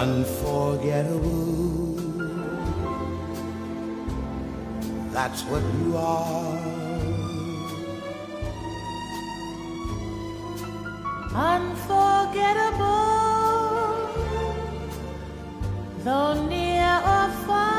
unforgettable. That's what you are. Unforgettable, though near or far.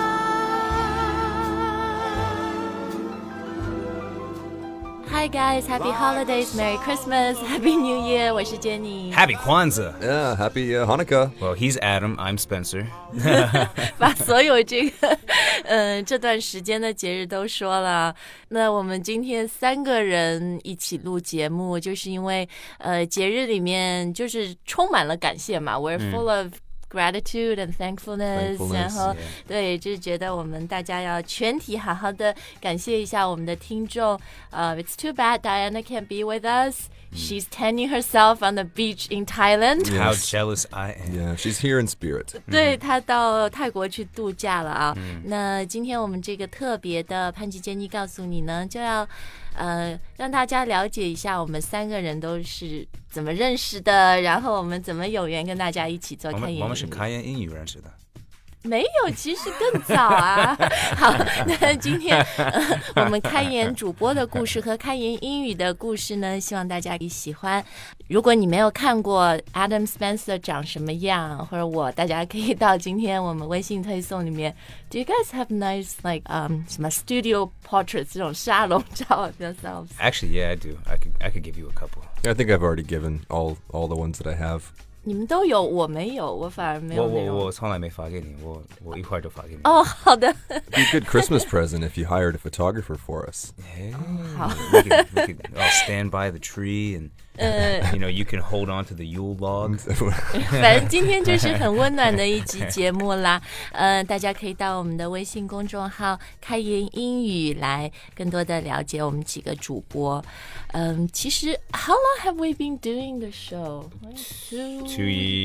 Hi guys, happy holidays, Merry Christmas, Happy New Year. 我是 Jenny. Happy Kwanzaa. Yeah, happy Hanukkah. Well, he's Adam, I'm Spencer. 把所有这段时间的节日都说了。那我们今天3个人一起录节目，就是因为节日里面就是充满了感谢嘛。We're full of gratitude and thankfulness. 然后对，就是觉得我们大家要全体好好的感谢一下我们的听众。It's too bad Diana can't be with us. She's tanning herself on the beach in Thailand. Yes. How jealous I am. Yeah, she's here in spirit. 对，她到泰国去度假了啊。那今天我们这个特别的潘吉坚妮告诉你呢，就要让大家了解一下我们3个人都是怎么认识的，然后我们怎么有缘跟大家一起做开言英语。 我们是开言英语认识的。 没有，其实更早啊。好，那今天我们开言主播的故事和开言英语的故事呢，希望大家喜欢。如果你没有看过 Adam Spencer 长什么样，或者大家可以到今天我们微信推送里面。Do you guys have nice like 什么 studio portraits 这种沙龙照 of yourselves? Actually, yeah, I do. I could give you a couple. I think I've already given all the ones that I have. 你们都有，我没有，我反而没有那种。 我从来没发给你，我一会儿就发给你。 哦，好的。 It'd be a good Christmas present if you hired a photographer for us. Hey, 好。 we could all stand by the tree and you can hold on to the Yule log. 反正今天就是很温暖的一集节目啦。大家可以到我们的微信公众号开言英语来更多的了解我们几个主播。其实 How long have we been doing the show? 2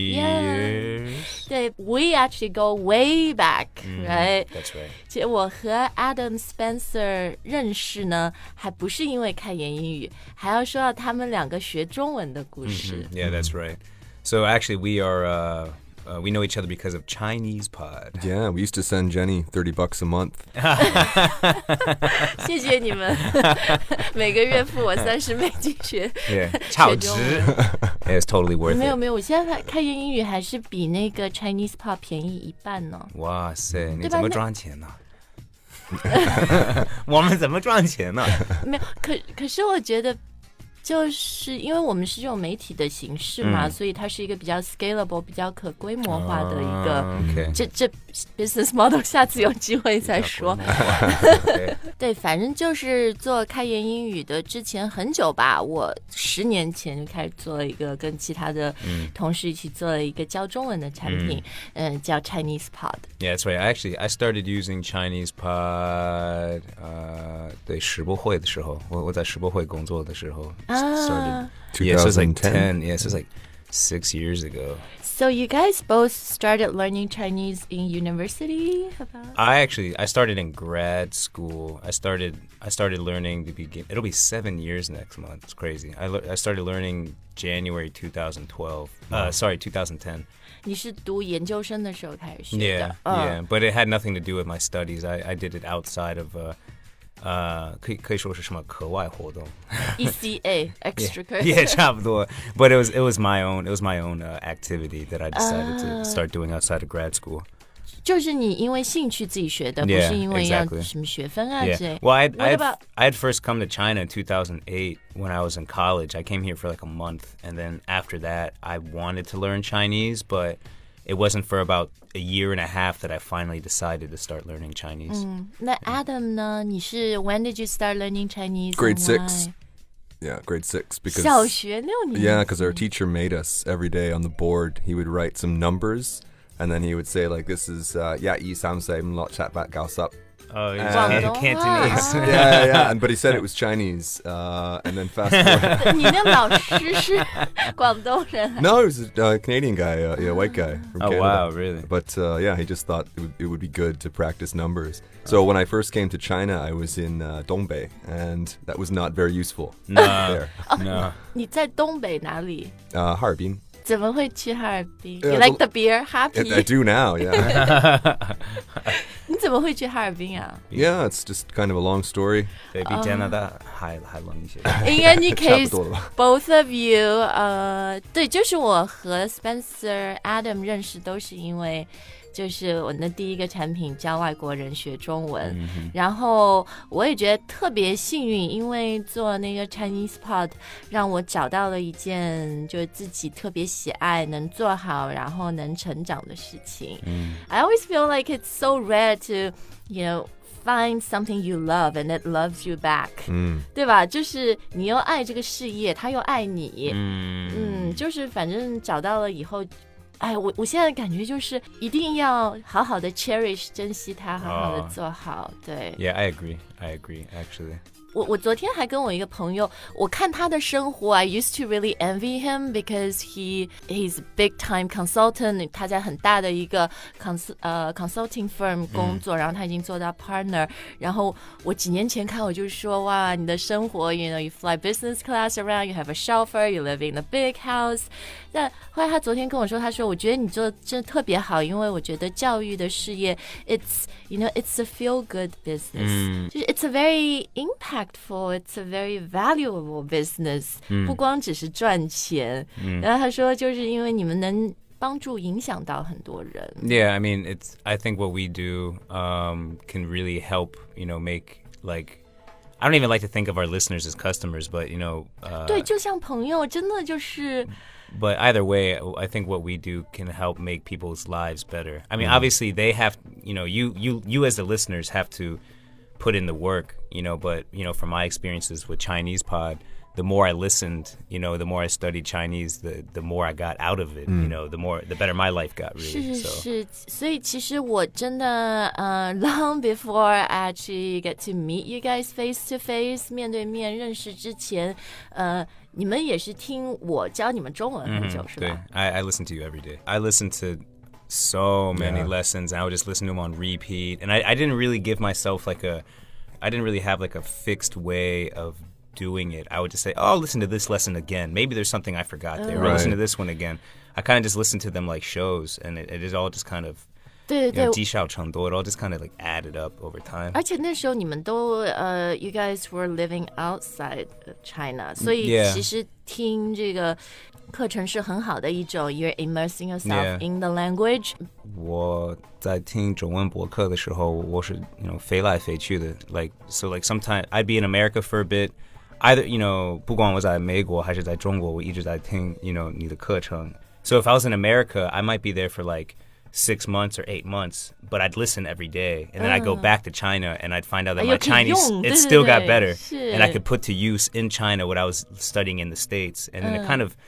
years. 对 We actually go way back, right? That's right. 其实我和 Adam Spencer 认识呢，还不是因为开言英语，还要说到他们2个学中文的故事。 Yeah, that's right. So actually, we know each other because of Chinese Pod. Yeah, we used to send Jenny $30 a month. 谢谢你们，每个月付我30美金学。 Yeah, 超值。Yeah, it's totally worth it. 没有，我现在开言英语还是比那个 Chinese Pod 便宜1半呢。 哇塞，你怎么赚钱呢？我们怎么赚钱呢？ 没有，可是我觉得。就是因为我们是这种媒体的形式嘛，所以它是一个比较 scalable、比较可规模化的一个。这 business model 下次有机会再说。对，反正就是做开言英语的之前很久吧，我10年前就开始做了一个跟其他的同事一起做了一个教中文的产品，叫 Chinese Pod. Yeah, that's right. I started using Chinese Pod. 对，世博会的时候，我在世博会工作的时候。Started 2010. So it's like 10. Yeah, so it's like 6 years ago. So you guys both started learning Chinese in university? I started in grad school. I started learning to begin. It'll be 7 years next month. It's crazy. I started learning January 2012. Sorry, 2010. 你是读研究生的时候开始学的。 Yeah, but it had nothing to do with my studies. I did it outside of. 可以说是什么课外活动 ECA extracurricular. Yeah, 差不多 But it was my own activity that I decided to start doing outside of grad school. 就是你因为兴趣自己学的，不是因为要什么学分啊之类。 Well, I had first come to China in 2008 when I was in college. I came here for like a month, and then after that, I wanted to learn Chinese, but it wasn't for about a year and a half that I finally decided to start learning Chinese. 那 Adam 呢？你是 When did you start learning Chinese? Grade 6. Yeah, grade 6 because 小学6年级。 Yeah, because our teacher made us every day on the board. He would write some numbers, and then he would say like, "This is 1 3 4 5 6 7 8 9 10." Oh, Cantonese. Yeah. But he said it was Chinese, and then fast forward. 你那老师是广东人？ No, he was a Canadian guy, white guy from Canada. Wow, really? But he just thought it would be good to practice numbers. So when I first came to China, I was in Dongbei, and that was not very useful. No. 你在东北哪里？ 哈尔滨。 怎么会去哈尔滨 Yeah, ？You like the beer? Happy？ I do now, yeah. 你怎么会去哈尔滨啊？ Yeah, it's just kind of a long story. 对，比加拿大还冷一些。 In any case, 差不多了吧。 both of you， 对，就是我和 Spencer、Adam 认识都是因为。就是我的第一个产品教外国人学中文，然后我也觉得特别幸运，因为做那个 Chinese Pod 让我找到了一件就是自己特别喜爱、能做好，然后能成长的事情。I always feel like it's so rare to, you know, find something you love and it loves you back， 对吧？就是你又爱这个事业，他又爱你，就是反正找到了以后。哎，我现在的感觉就是一定要好好的 cherish 珍惜它，好好的做好。对 Yeah, I agree actually. 我昨天还跟我一个朋友，我看他的生活 I used to really envy him because he's a big time consultant， 他在很大的一个consulting firm 工作，然后他已经做到 partner， 然后我几年前看我就说哇，你的生活 you know you fly business class around, you have a chauffeur, you live in a big house。 但后来他昨天跟我说，他说我觉得你做的真的特别好，因为我觉得教育的事业 it's you know it's a feel good business， 就是 it's a very impactful, it's a very valuable business， 不光只是赚钱。然后他说就是因为你们能帮助影响到很多人。 Yeah, I mean, I think what we do can really help, you know, make like I don't even like to think of our listeners as customers, but you know, 对，就像朋友，真的就是。 But either way, I think what we do can help make people's lives better. I mean, obviously they have, you know, you as the listeners have to put in the work, you know, but, you know, from my experiences with Chinese Pod, the more I listened, you know, the more I studied Chinese, the more I got out of it, you know, the better my life got, really. 是，所以其实我真的long before I actually get to meet you guys face to face 面对面认识之前，你们也是听我教你们中文很久，是吧？ I listen to you every day. I listen to so many lessons, and I would just listen to them on repeat. And I didn't really give myself I didn't really have like a fixed way of doing it. I would just say, oh, listen to this lesson again. Maybe there's something I forgot there. Or listen to this one again. I kind of just listened to them like shows, and it is all just kind of, 对对 you know, 对， 积少成多. It all just kind of like added up over time. 而且那时候你们都you guys were living outside China， 所以 Yeah. 其实听这个课程是很好的一种 you're immersing yourself Yeah. in the language。 我在听中文播客的时候，我是 you know 飞来飞去的 like so like sometimes I'd be in America for a bit, either you know 不管我在美国还是在中国，我一直在听 you know 你的课程。So if I was in America, I might be there for like 6 months or 8 months, but I'd listen every day, and then I'd go back to China, and I'd find out that my 又可以 Chinese 用， it 对， still 对， got better, 是。 and I could put to use in China what I was studying in the States, and then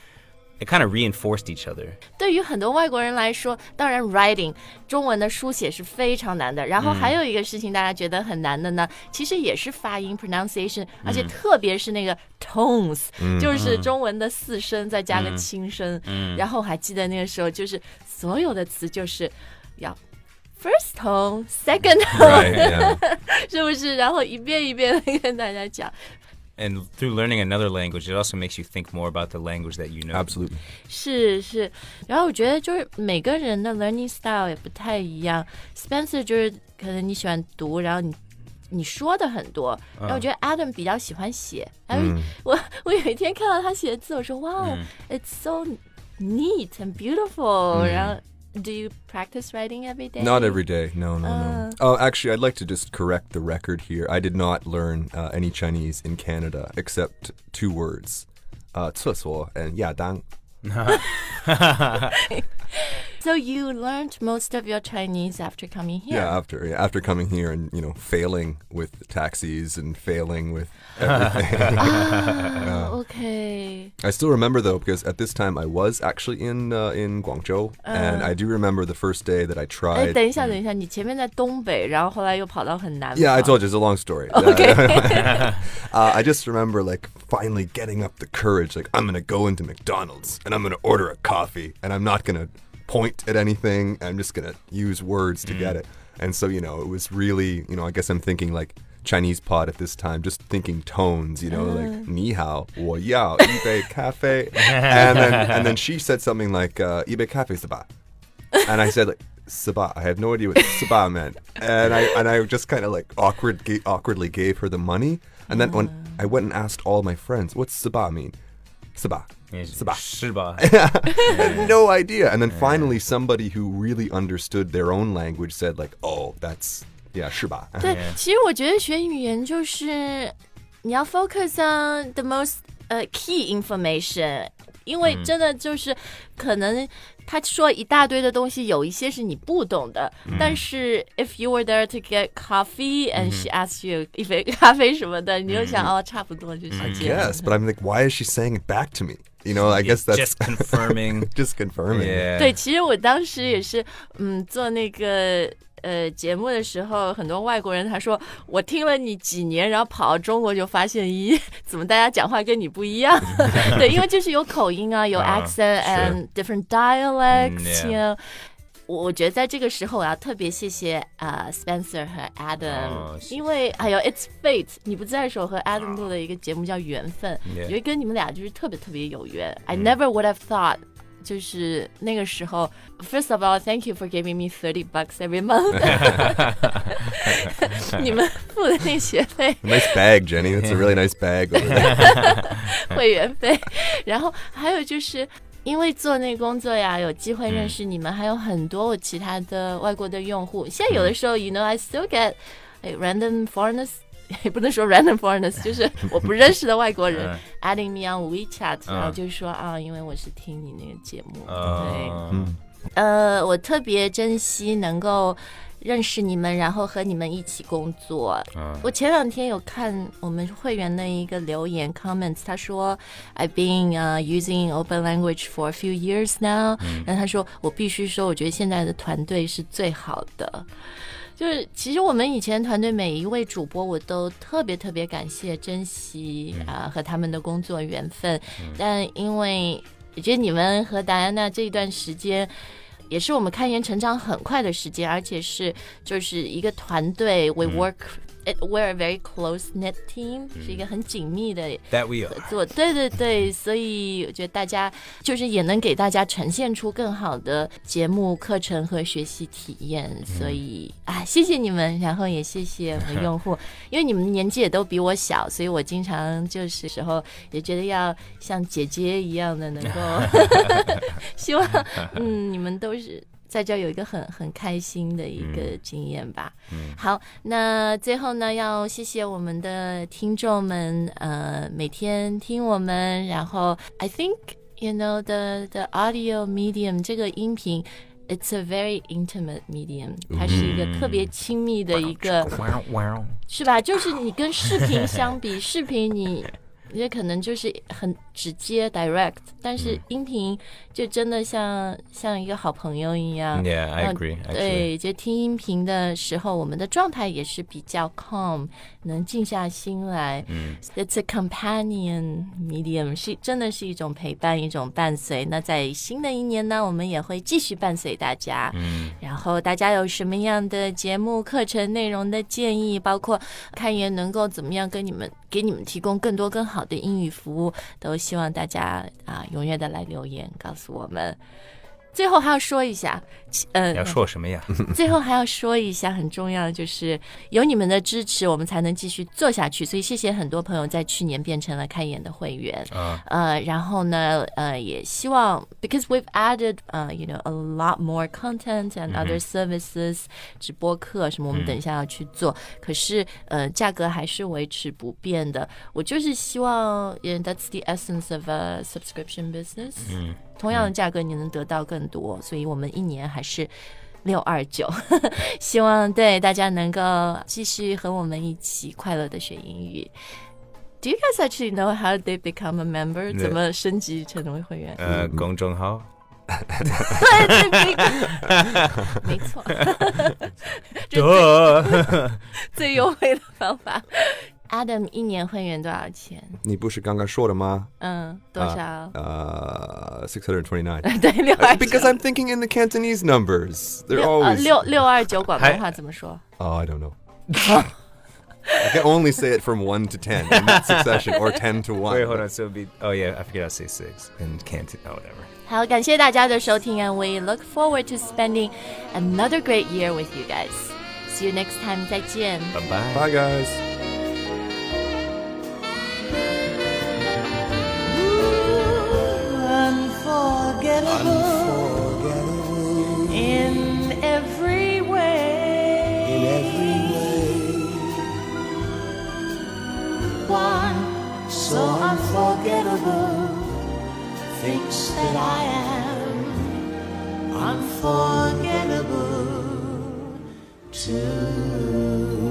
it kind of reinforced each other. 对于很多外国人来说，当然 writing 中文的书写是非常难的。然后还有一个事情大家觉得很难的呢，其实也是发音 pronunciation， 而且特别是那个 tones， 就是中文的四声再加个轻声。然后还记得那个时候，就是所有的词就是要 first tone, second tone， Right, yeah. 是不是？然后一遍一遍的跟大家讲。 And through learning another language, it also makes you think more about the language that you know. Absolutely. 是，然后我觉得就是每个人的 learning style 也不太一样。Spencer 就是可能你喜欢读，然后你说的很多，然后我觉得 Adam 比较喜欢写。我有一天看到他写的字，我说哇，it's so neat and beautiful。然后 Do you practice writing every day? Not every day. No. Oh, actually, I'd like to just correct the record here. I did not learn any Chinese in Canada except 2 words, 厕所 and 亚当. So you learned most of your Chinese after coming here? Yeah, after coming here and, you know, failing with taxis and failing with everything. Okay. I still remember, though, because at this time I was actually in Guangzhou, and I do remember the first day that I 哎， tried. 等一下，你前面在东北，然后后来又跑到很南方。 Yeah, I told you, it's a long story. Okay. I just remember, like, finally getting up the courage, like, I'm going to go into McDonald's, and I'm going to order a coffee, and I'm not going to point at anything, I'm just going to use words to get it. And so, you know, it was really, you know, I guess I'm thinking, like, Chinese pot at this time, just thinking tones, you know, like 你好我要一杯咖啡 and then she said something like 一杯咖啡是吧 and I said like Saba. I have no idea what Saba meant. And I just kind of like awkwardly gave her the money. And then when I went and asked all my friends, what's Saba mean? Saba. Saba. 是吧 I had no idea. And then finally somebody who really understood their own language said like, oh, that's, yeah, 是吧对，其实我觉得学语言就是你要 focus on the most key information， 因为真的就是可能他说一大堆的东西，有一些是你不懂的。但是 if you were there to get coffee and she asked you 一杯咖啡什么的，你就想哦，差不多就是这样。 Yes, but I'm like, why is she saying it back to me? You know, I guess that's just confirming. Just confirming. Yeah. 对，其实我当时也是，做那个节目的时候，很多外国人他说我听了你几年，然后跑到中国就发现，咦，怎么大家讲话跟你不一样？对，因为就是有口音啊，有 accent and different dialects，you know。我觉得在这个时候，我要特别谢谢Spencer 和 Adam，因为还有 It's Fate， 你不在的时候和 Adam 录的一个节目叫缘分，我觉得跟你们俩就是特别特别有缘。I never would have thought。就是那个时候 First of all, thank you for giving me $30 every month 你们付的那学费 Nice bag, Jenny. That's a really nice bag over there. 会员费。然后还有就是因为做那个工作呀，有机会认识你们，还有很多我其他的外国的用户。现在有的时候 you know, I still get random foreigners，也不能说 random foreigners， 就是我不认识的外国人adding me on WeChat， 然后就说因为我是听你那个节目，对，我特别珍惜能够认识你们，然后和你们一起工作。我前两天有看我们会员的一个留言 comments， 他说 I've been using open language for a few years now， 然后他说我必须说，我觉得现在的团队是最好的。就是其实我们以前团队每一位主播我都特别特别感谢珍惜和他们的工作缘分，但因为我觉得你们和达安娜这一段时间也是我们看颜成长很快的时间，而且是就是一个团队 we're a very close-knit team， 是一个很紧密的合作。对对对，所以我觉得大家就是也能给大家呈现出更好的节目、课程和学习体验。所以谢谢你们，然后也谢谢我们用户，因为你们年纪也都比我小，所以我经常就是时候也觉得要像姐姐一样的能够希望你们都是在这有一个很开心的一个经验吧。好，那最后呢，要谢谢我们的听众们，每天听我们，然后 I think you know the audio medium 这个音频 it's a very intimate medium， 它是一个特别亲密的一个，是吧？就是你跟视频相比，视频你也可能就是很直接 direct， 但是音频就真的像一个好朋友一样。 Yeah, I agree. 对，就听音频的时候，我们的状态也是比较 calm， 能静下心来。It's a companion medium， 是真的是一种陪伴，一种伴随。那在新的一年呢，我们也会继续伴随大家。然后大家有什么样的节目、课程内容的建议，包括看颜能够怎么样给你们提供更多更好的英语服务，都希望大家踊跃的来留言告诉我们。最后还要说一下， 要说什么呀？ 最后还要说一下，很重要的就是有你们的支持，我们才能继续做下去。所以谢谢很多朋友在去年变成了看颜的会员。然后呢，也希望 because we've added you know a lot more content and other services， 直播课什么，我们等一下要去做。可是价格还是维持不变的。我就是希望 that's the essence of a subscription business。同样的价格你能得到更多，所以我们一年还是629希望对大家能够继续和我们一起快乐的学英语。Do you guys actually know how they become a member？ 怎么升级成为会员？ 公众号没错对最优惠的方法。Adam 一年会员多少钱？ 你不是刚刚说的吗？ 多少 ？629。 对，629。 Because I'm thinking in the Cantonese numbers. They're always 629广东话怎么说 ？Oh, I don't know. I can only say it from 1 to 10 in that succession, or 10 to 1. Wait, hold on. So it'd be. Oh yeah, I forget how to say 6 and can't. Oh, whatever. 好，感谢大家的收听 and we look forward to spending another great year with you guys. See you next time. 再见。 Bye bye. Bye, guys. Unforgettable In every way. in every way. One so unforgettable thinks that I am unforgettable too.